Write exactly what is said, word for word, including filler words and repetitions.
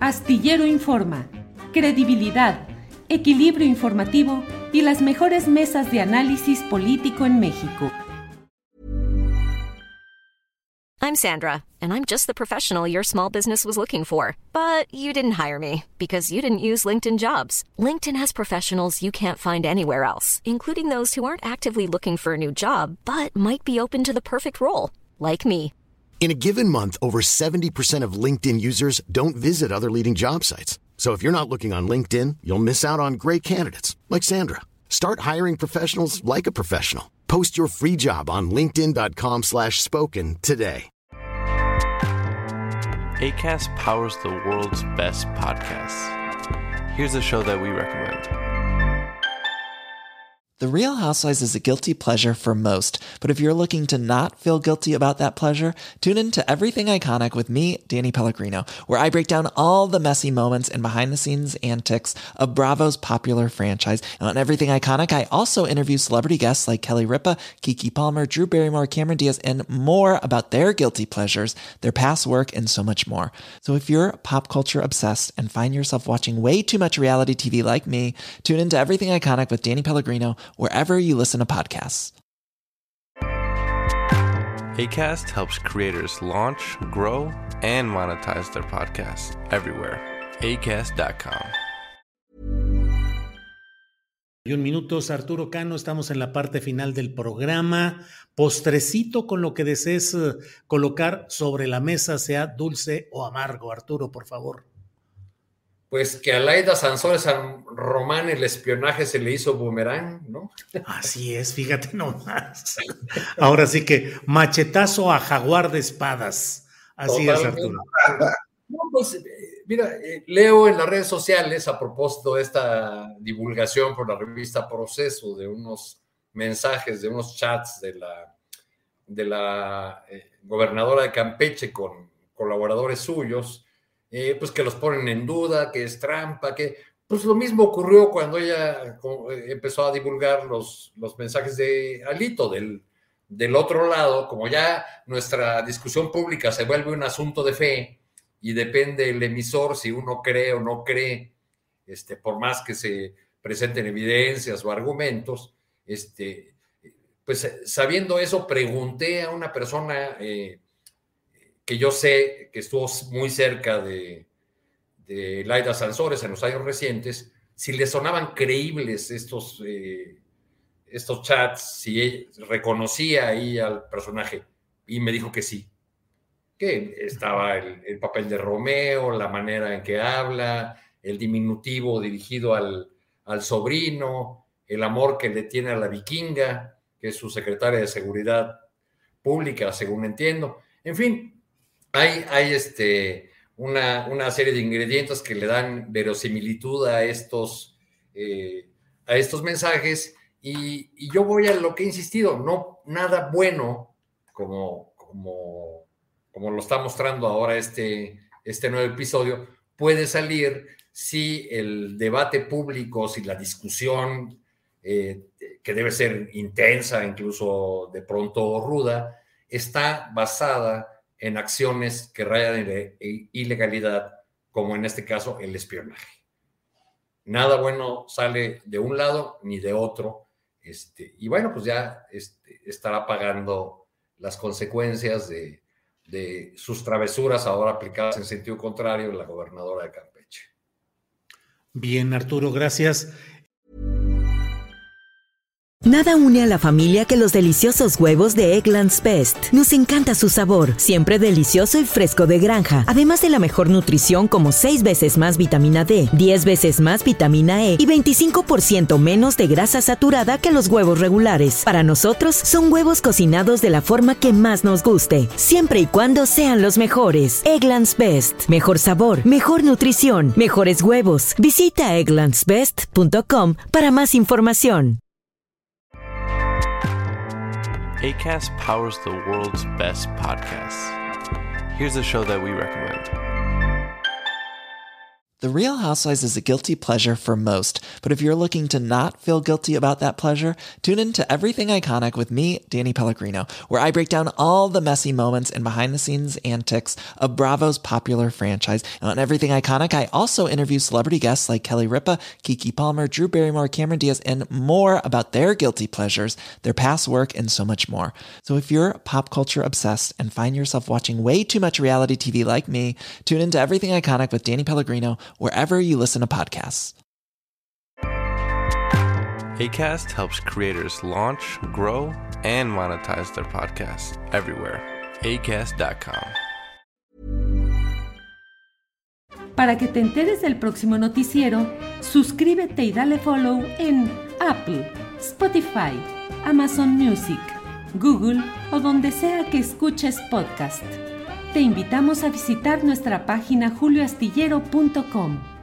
Astillero Informa, credibilidad, equilibrio informativo y las mejores mesas de análisis político en México. I'm Sandra, and I'm just the professional your small business was looking for. But you didn't hire me because you didn't use LinkedIn Jobs. LinkedIn has professionals you can't find anywhere else, including those who aren't actively looking for a new job, but might be open to the perfect role, like me. In a given month, over seventy percent of LinkedIn users don't visit other leading job sites. So if you're not looking on LinkedIn, you'll miss out on great candidates like Sandra. Start hiring professionals like a professional. Post your free job on linkedin.com slash spoken today. Acast powers the world's best podcasts. Here's a show that we recommend. The Real Housewives is a guilty pleasure for most, but if you're looking to not feel guilty about that pleasure, tune in to Everything Iconic with me, Danny Pellegrino, where I break down all the messy moments and behind-the-scenes antics of Bravo's popular franchise. And on Everything Iconic, I also interview celebrity guests like Kelly Ripa, Keke Palmer, Drew Barrymore, Cameron Diaz, and more about their guilty pleasures, their past work, and so much more. So if you're pop culture obsessed and find yourself watching way too much reality T V like me, tune in to Everything Iconic with Danny Pellegrino, wherever you listen to podcasts. Acast helps creators launch, grow, and monetize their podcasts everywhere. Acast dot com. Y un minutos, Arturo Cano, estamos en la parte final del programa. Postrecito con lo que desees uh, colocar sobre la mesa, sea dulce o amargo. Arturo, por favor. Pues que a Laida Sansores San Román el espionaje se le hizo boomerang, ¿no? Así es, fíjate nomás. Ahora sí que machetazo a jaguar de espadas. Así Totalmente. Es, Arturo. No, pues, mira, eh, leo en las redes sociales a propósito de esta divulgación por la revista Proceso de unos mensajes, de unos chats de la, de la eh, gobernadora de Campeche con colaboradores suyos, Eh, pues que los ponen en duda, que es trampa, que pues lo mismo ocurrió cuando ella empezó a divulgar los, los mensajes de Alito. Del, del otro lado, como ya nuestra discusión pública se vuelve un asunto de fe y depende el emisor si uno cree o no cree, este, por más que se presenten evidencias o argumentos, este, pues sabiendo eso, pregunté a una persona eh, que yo sé que estuvo muy cerca de, de Laida Sansores en los años recientes, si le sonaban creíbles estos, eh, estos chats, si reconocía ahí al personaje, y me dijo que sí, que estaba el, el papel de Romeo, la manera en que habla, el diminutivo dirigido al, al sobrino, el amor que le tiene a la vikinga, que es su secretaria de Seguridad Pública, según entiendo. En fin, Hay, hay este, una, una serie de ingredientes que le dan verosimilitud a estos, eh, a estos mensajes y, y yo voy a lo que he insistido, no nada bueno como, como, como lo está mostrando ahora este, este nuevo episodio puede salir si el debate público, si la discusión eh, que debe ser intensa, incluso de pronto ruda, está basada en acciones que rayan en ilegalidad, como en este caso el espionaje. Nada bueno sale de un lado ni de otro, este, y bueno, pues ya este, estará pagando las consecuencias de, de sus travesuras ahora aplicadas en sentido contrario la gobernadora de Campeche. Bien, Arturo, gracias. Nada une a la familia que los deliciosos huevos de Eggland's Best. Nos encanta su sabor, siempre delicioso y fresco de granja. Además de la mejor nutrición como seis veces más vitamina D, diez veces más vitamina E y veinticinco por ciento menos de grasa saturada que los huevos regulares. Para nosotros, son huevos cocinados de la forma que más nos guste, siempre y cuando sean los mejores. Eggland's Best. Mejor sabor, mejor nutrición, mejores huevos. Visita egglands best punto com para más información. Acast powers the world's best podcasts. Here's a show that we recommend. The Real Housewives is a guilty pleasure for most, but if you're looking to not feel guilty about that pleasure, tune in to Everything Iconic with me, Danny Pellegrino, where I break down all the messy moments and behind-the-scenes antics of Bravo's popular franchise. And on Everything Iconic, I also interview celebrity guests like Kelly Ripa, Keke Palmer, Drew Barrymore, Cameron Diaz, and more about their guilty pleasures, their past work, and so much more. So if you're pop culture obsessed and find yourself watching way too much reality T V like me, tune into Everything Iconic with Danny Pellegrino, wherever you listen to podcasts. Acast helps creators launch, grow, and monetize their podcasts everywhere. acast dot com. Para que te enteres del próximo noticiero, suscríbete y dale follow en Apple, Spotify, Amazon Music, Google o donde sea que escuches podcast. Te invitamos a visitar nuestra página julio astillero punto com.